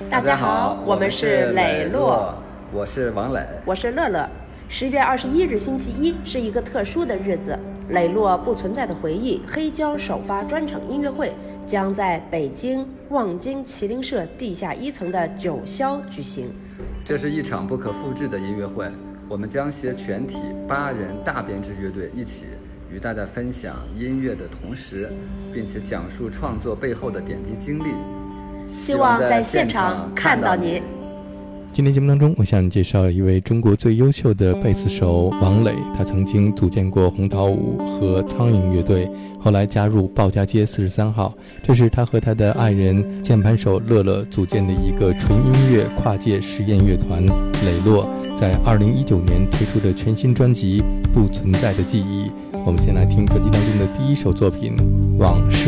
大家好，我们是磊落， 我是王磊， 我是乐乐。11月21日星期一是一个特殊的日子，磊落不存在的回忆黑胶首发专场音乐会将在北京望京麒麟社地下1层的九霄举行。 这是一场不可复制的音乐会，我们将携全体8人大编制乐队一起与大家分享音乐的同时，并且讲述创作背后的点滴经历， 希望在现场看到你。 今天节目当中，我向你介绍一位中国最优秀的贝斯手王磊，他曾经组建过红桃五和苍蝇乐队，后来加入鲍家街43号。这是他和他的爱人键盘手乐乐组建的一个纯音乐跨界实验乐团磊落，在2019年推出的全新专辑《不存在的记忆》。我们先来听专辑当中的第一首作品《往事》。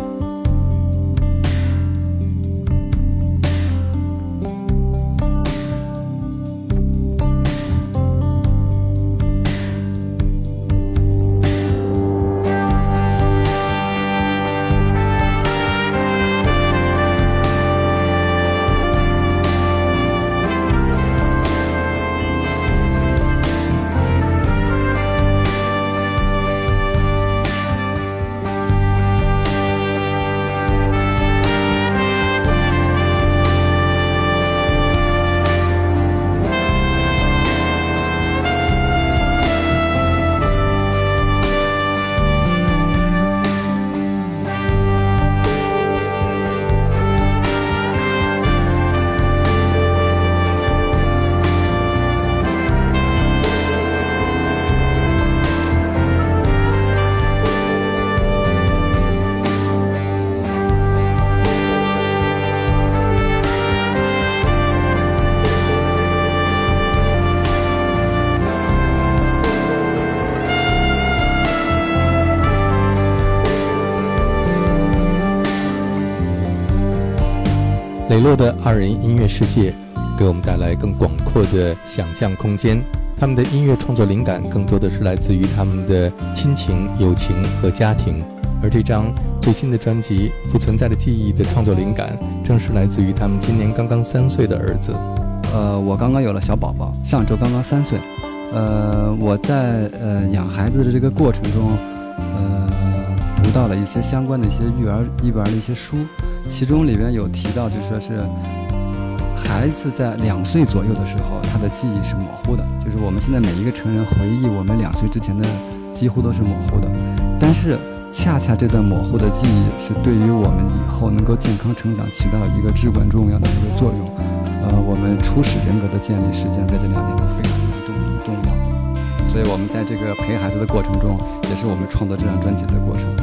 磊落的2人音乐世界给我们带来更广阔的想象空间，他们的音乐创作灵感更多的是来自于他们的亲情、友情和家庭，而这张最新的专辑《不存在的记忆》的创作灵感正是来自于他们今年刚刚3岁的儿子。 我刚刚有了小宝宝，上周刚刚3岁。我在养孩子的这个过程中，读到了一些相关的一些育儿的一些书，其中里边有提到，就说是孩子在2岁左右的时候，他的记忆是模糊的，就是我们现在每一个成人回忆我们2岁之前的几乎都是模糊的，但是恰恰这段模糊的记忆是对于我们以后能够健康成长起到一个至关重要的一个作用。我们初始人格的建立实际上在这2年中非常重要，所以我们在这个陪孩子的过程中，也是我们创作这张专辑的过程。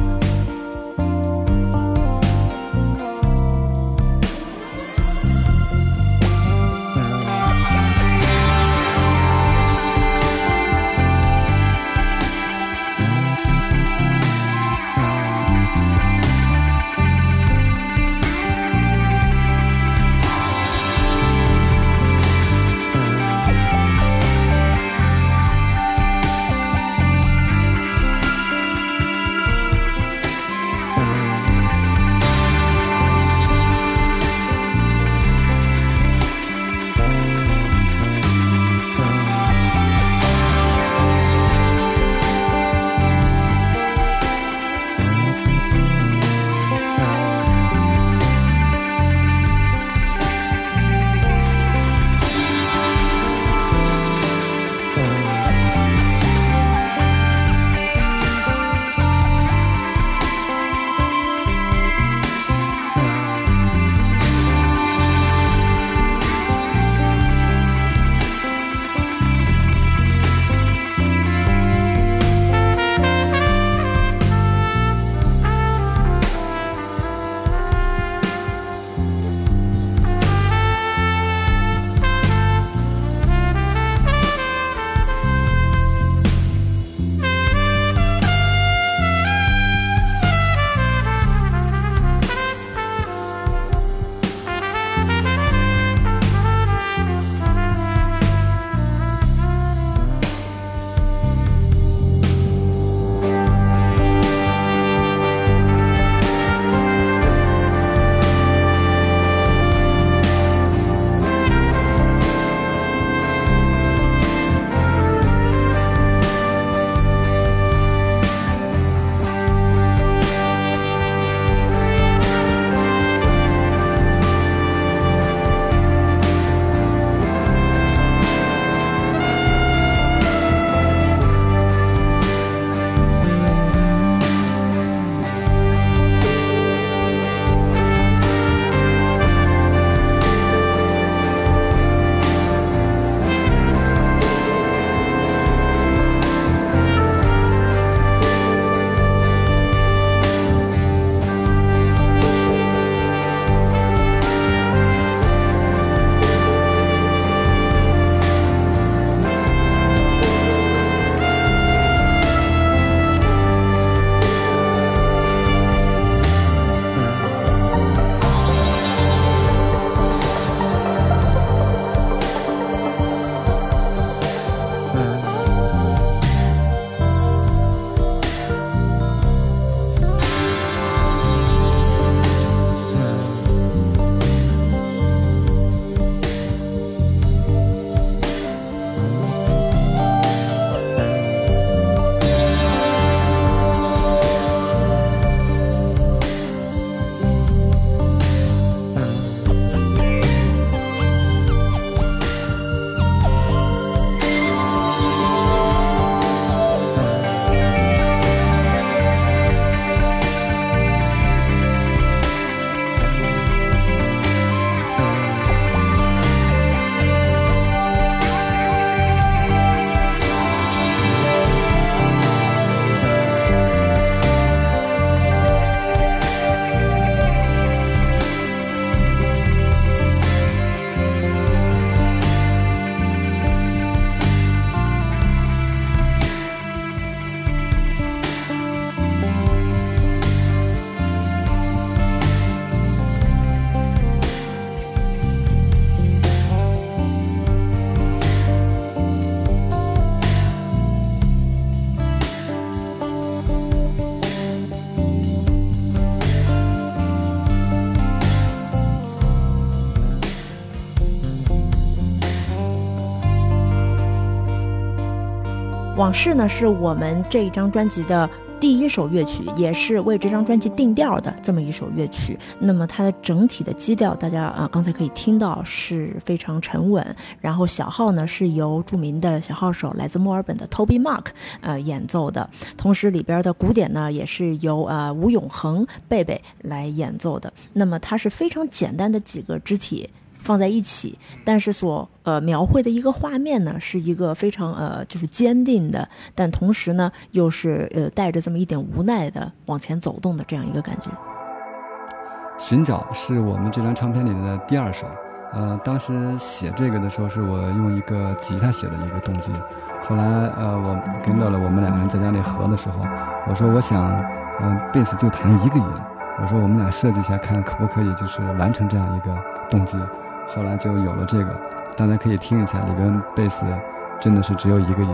往事呢是我们这一张专辑的第一首乐曲，也是为这张专辑定调的这么一首乐曲。那么它的整体的基调，大家刚才可以听到是非常沉稳。然后小号呢是由著名的小号手来自墨尔本的 Toby Mark 演奏的，同时里边的鼓点呢也是由吴永恒贝贝来演奏的。那么它是非常简单的几个肢体放在一起，但是所描绘的一个画面呢，是一个非常就是坚定的，但同时呢又是带着这么一点无奈的往前走动的这样一个感觉。 寻找是我们这张唱片里的第2首，当时写这个的时候是我用一个吉他写的一个动机，后来我跟乐乐我们2个人在家里合的时候，我说我想贝斯就弹1个音，我说我们俩设计一下看可不可以就是完成这样一个动机，后来就有了这个，大家可以听一下，里边贝斯真的是只有1个音。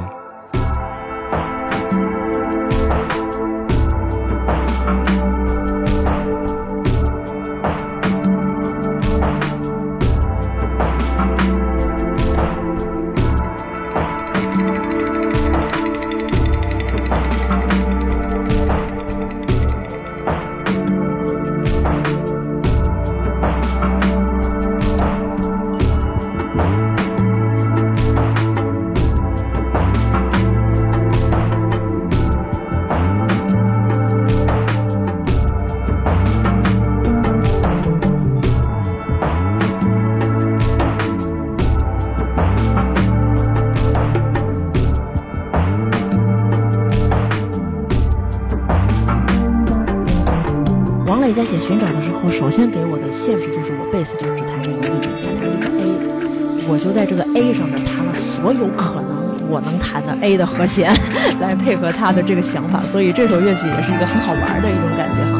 在写寻找的时候，首先给我的限制就是我贝斯就只弹这1个音，他弹一个 A， 我就在这个 A 上面弹了所有可能我能弹的 A 的和弦，来配合他的这个想法，所以这首乐曲也是一个很好玩的一种感觉哈。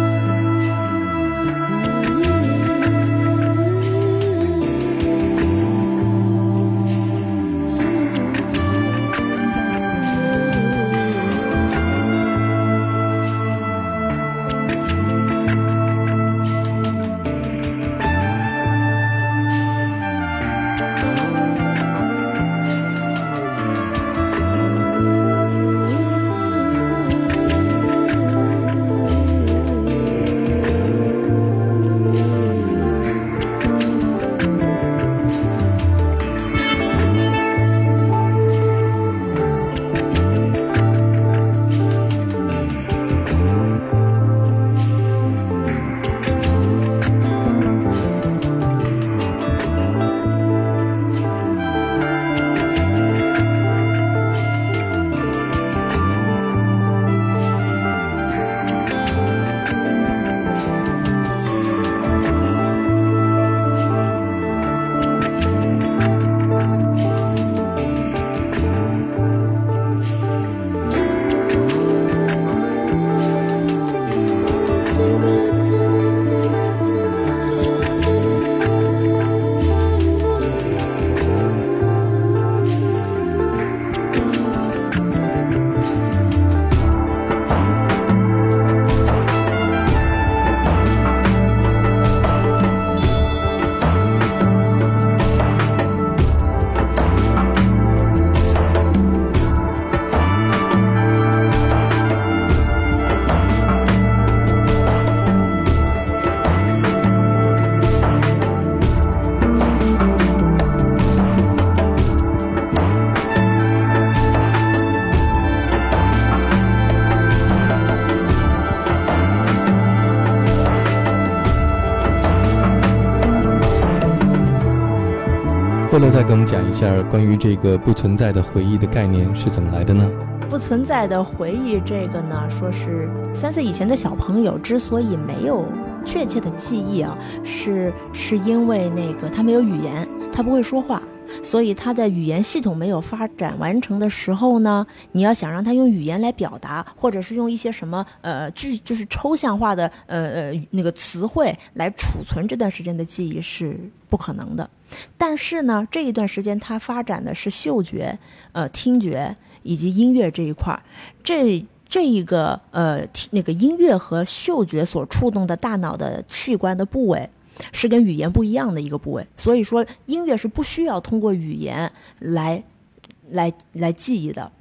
乐乐再给我们讲一下关于这个不存在的回忆的概念是怎么来的呢？ 不存在的回忆这个呢，说是3岁以前的小朋友之所以没有确切的记忆啊，是因为那个他没有语言，他不会说话，所以他的语言系统没有发展完成的时候呢，你要想让他用语言来表达，或者是用一些什么就是抽象化的那个词汇来储存这段时间的记忆是不可能的。但是呢，这一段时间他发展的是嗅觉、听觉以及音乐这一块，这一个那个音乐和嗅觉所触动的大脑的器官的部位是跟语言不一样的一个部位，所以说音乐是不需要通过语言来记忆的。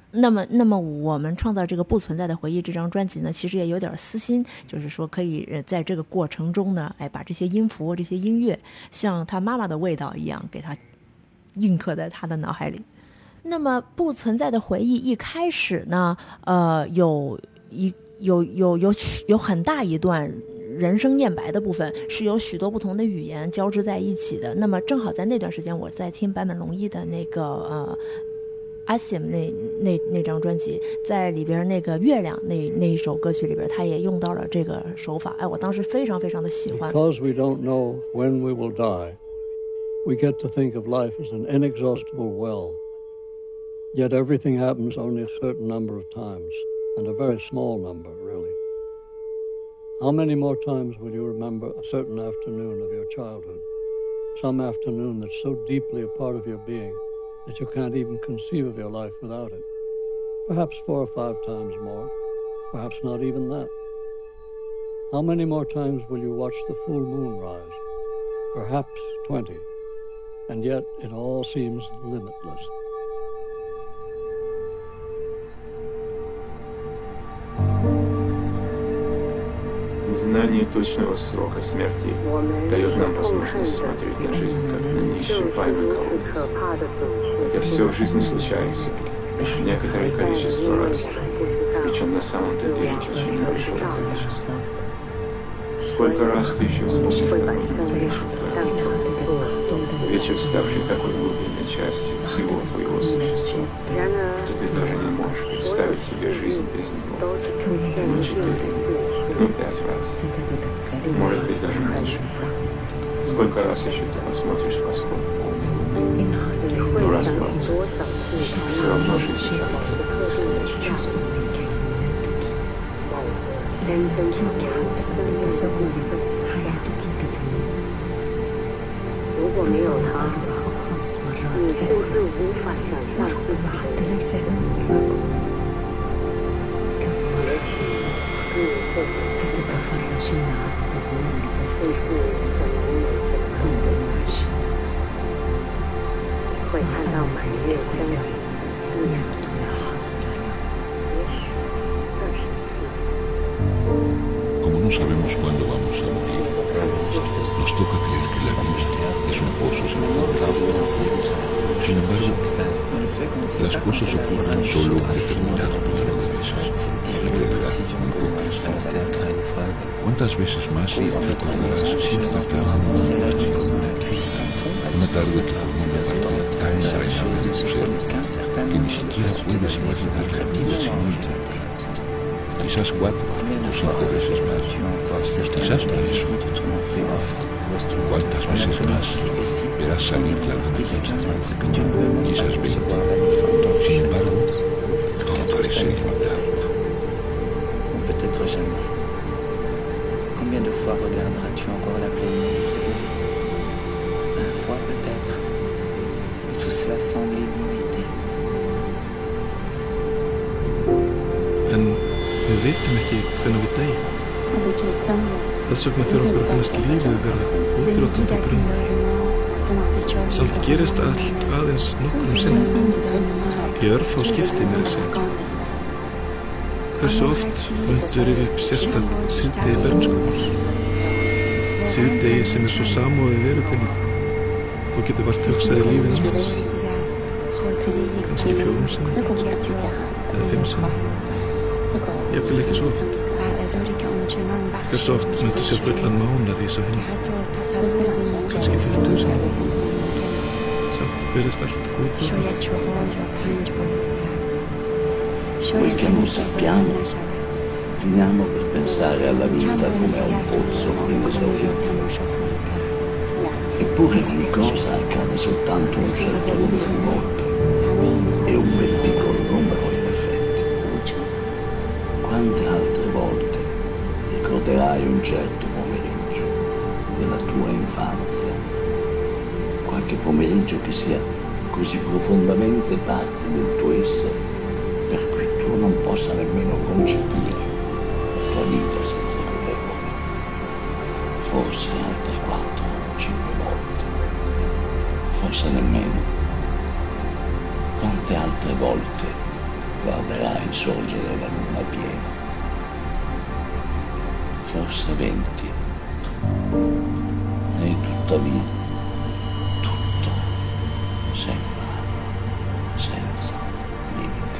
那么我们创造这个不存在的回忆这张专辑呢，其实也有点私心，就是说可以在这个过程中呢，把这些音符、这些音乐，像他妈妈的味道一样，给他印刻在他的脑海里。那么不存在的回忆一开始呢，有很大一段人声念白的部分，是有许多不同的语言交织在一起的。那么正好在那段时间，我在听坂本龙一的那个Asim 那张专辑，在里边那个月亮那一首歌曲里边，他也用到了这个手法。我当时非常非常的喜欢。 Because we don't know when we will die, we get to think of life as an inexhaustible well. Yet everything happens only a certain number of times, and a very small number, really. How many more times will you remember a certain afternoon of your childhood? Some afternoon that's so deeply a part of your being that you can't even conceive of your life without it. Perhaps 4 or 5 times more, perhaps not even that. How many more times will you watch the full moon rise? Perhaps 20. And yet it all seems limitless. Знание точного срока смерти дает нам возможность смотреть на жизнь как на неисчерпаемый колодец. Хотя все в жизни случается некоторое количество раз, причем на самом-то деле очень большое количество. Сколько раз ты еще вспомнишь какое-нибудь вечер, ставший такой глубинной частью всего твоего существа, что ты даже не можешь представить себе жизнь без него. 4, 5 раз. Может быть, даже меньше. Сколько раз еще ты посмотришь восход? Раз 20. Все равно жизнь кажется бесконечной. 如果没有他，你是不是无法想象自己的生活？甚至可能有这个会看到满月光亮。 Como no sabemos cuándo vamos a morir, nos toca creer que la vida es un pozo sin fondo. Sin embargo, las cosas ocurren solo en determinados momentos. La gravedad muy pocas. ¿Cuántas veces más recordarás cierta casa una tarde que formó una parte tan entrañable de tu ser que ni siquiera puedes imaginar la vida sin ella? Quizás 4 o 5 veces más, quizás más. ¿Cuántas veces más verás salir la luna llena? Quizás 20. Sin embargo, todo parece ilimitado. Ou peut-être jamais. Combien de fois regarderas-tu encore la pleine lune se lever? 1 fois peut-être. Et tout cela semble illimité. Við veitum ekki hvernig við deyjum. Þess vegna fyrir okkur að finnast lífið vera óþrjótandi grunn. Samt gerist allt aðeins nokkrum sinnum. Í örfá skipti með þessi. Hversu oft myndu rifja upp sérstakt síðdegi bernsku? Síðdegi sem svo samofið veru þinni. Þú getur vart hugsaði lífið hans. Kannski 4 sinnum. Eða 5 sinnum. Jafnvel ekki svo oft. Hversu oft myndu sjá fullan mánar í svo henni. Kannski 20 sinnum. Samt verðist allt óþrjótandi. Quel che non sappiamo, finiamo per pensare alla vita come a un pozzo inesaurito. Eppure ogni cosa accade soltanto un certo numero di volte e un bel piccolo numero in effetti. Quante altre volte ricorderai un certo pomeriggio della tua infanzia, qualche pomeriggio che sia così profondamente parte del tuo essere per cui tu non possa nemmeno concepire la tua vita senza quell'epoca. Forse altre 4 o 5 volte, forse nemmeno. Quante altre volte guarderà insorgere la luna piena. Forse 20. E tuttavia tutto sembra senza limiti.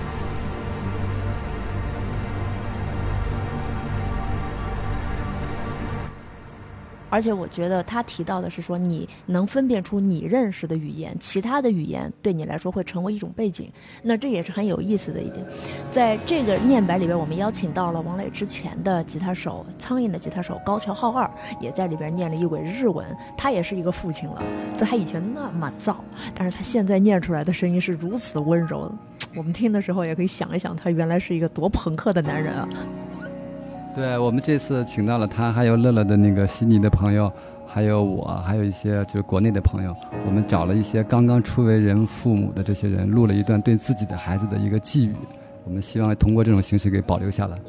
而且我觉得他提到的是说，你能分辨出你认识的语言，其他的语言对你来说会成为一种背景，那这也是很有意思的一点。在这个念白里边，我们邀请到了王磊之前的吉他手，苍蝇的吉他手高桥浩二，也在里边念了一轨日文。他也是一个父亲了，在他以前那么燥，但是他现在念出来的声音是如此温柔，我们听的时候也可以想一想，他原来是一个多朋克的男人啊。 对，我们这次请到了他，还有乐乐的那个悉尼的朋友，还有我，还有一些就是国内的朋友，我们找了一些刚刚初为人父母的这些人，录了一段对自己的孩子的一个寄语，我们希望通过这种形式给保留下来。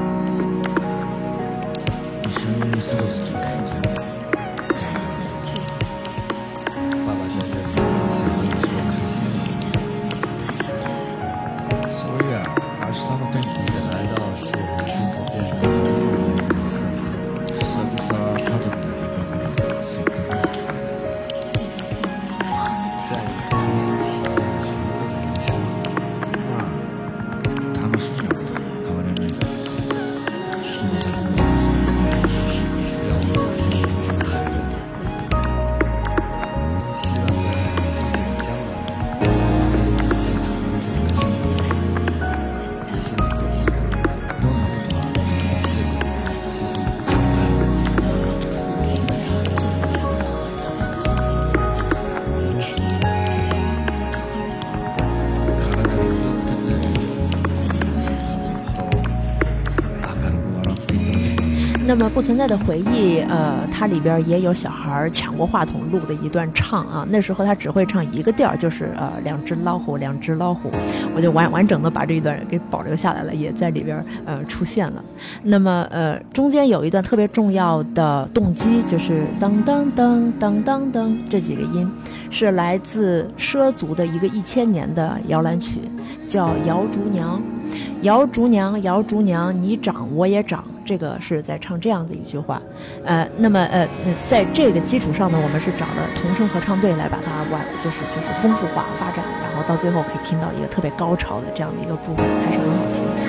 爸爸在这里想和你说谢谢你。 そういや、明日の天気你的来到使我们生活变得更富有一点色彩。 久々家族で出かけるせっかくの機会再一次重新体验全部的人生。 まあ楽しみなことに変わらないから人の先の人生让我们幸福自己的孩子，希望在将来可以一起重温这个生活。也许哪个机会， どんなことが谢谢你，谢谢你。 体に気をつけてこの先ずっと明るく笑っていてほしい。 那么不存在的回忆，它里边也有小孩抢过话筒录的一段唱啊。那时候他只会唱一个调，就是两只老虎，两只老虎。我就完整的把这一段给保留下来了，也在里边出现了。那么中间有一段特别重要的动机，就是当当当当当当这几个音，是来自畲族的一个1000年的摇篮曲，叫《摇竹娘》。摇竹娘，摇竹娘，你长我也长。这个是在唱这样的一句话，那么在这个基础上呢，我们是找了童声合唱队来把它就是丰富化发展，然后到最后可以听到一个特别高潮的这样的一个部分，还是很好听的。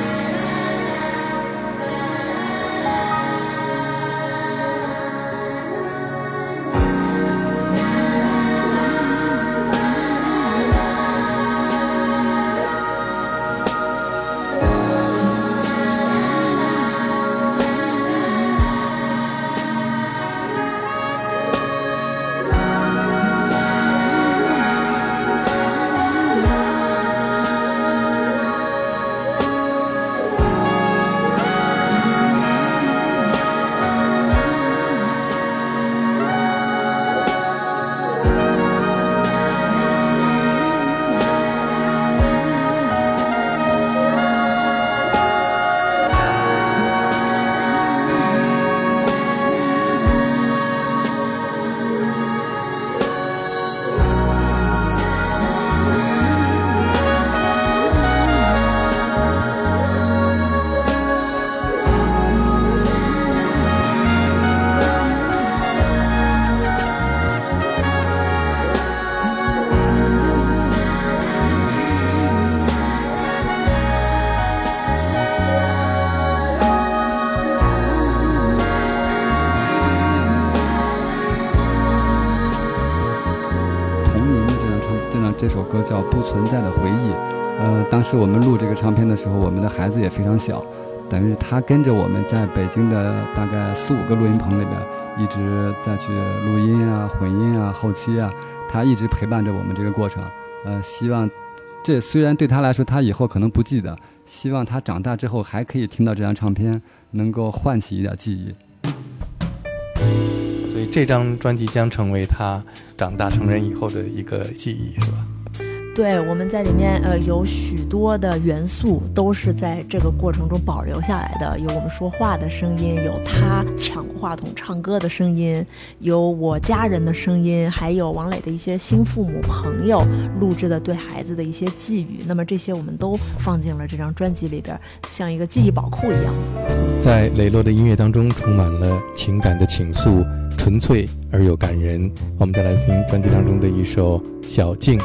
这首歌叫《不存在的回忆》。当时我们录这个唱片的时候，我们的孩子也非常小，等于是他跟着我们在北京的大概4、5个录音棚里边，一直在去录音啊、混音啊、后期啊，他一直陪伴着我们这个过程。希望这虽然对他来说他以后可能不记得，希望他长大之后还可以听到这张唱片，能够唤起一点记忆。 所以这张专辑将成为他长大成人以后的一个记忆，是吧？ 对，我们在里面有许多的元素都是在这个过程中保留下来的，有我们说话的声音，有他抢话筒唱歌的声音，有我家人的声音，还有王磊的一些新父母朋友录制的对孩子的一些寄语，那么这些我们都放进了这张专辑里边，像一个记忆宝库一样。 在磊落的音乐当中充满了情感的倾诉，纯粹而又感人。我们再来听专辑当中的一首《小径》。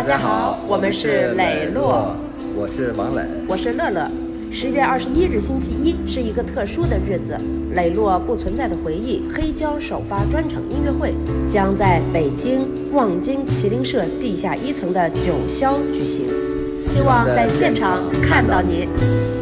家好，我们是磊落， 我是王磊， 我是乐乐。11月21日星期一是一个特殊的日子，磊落不存在的回忆黑胶首发专场音乐会将在北京望京麒麟社地下1层的9霄举行，希望在现场看到你。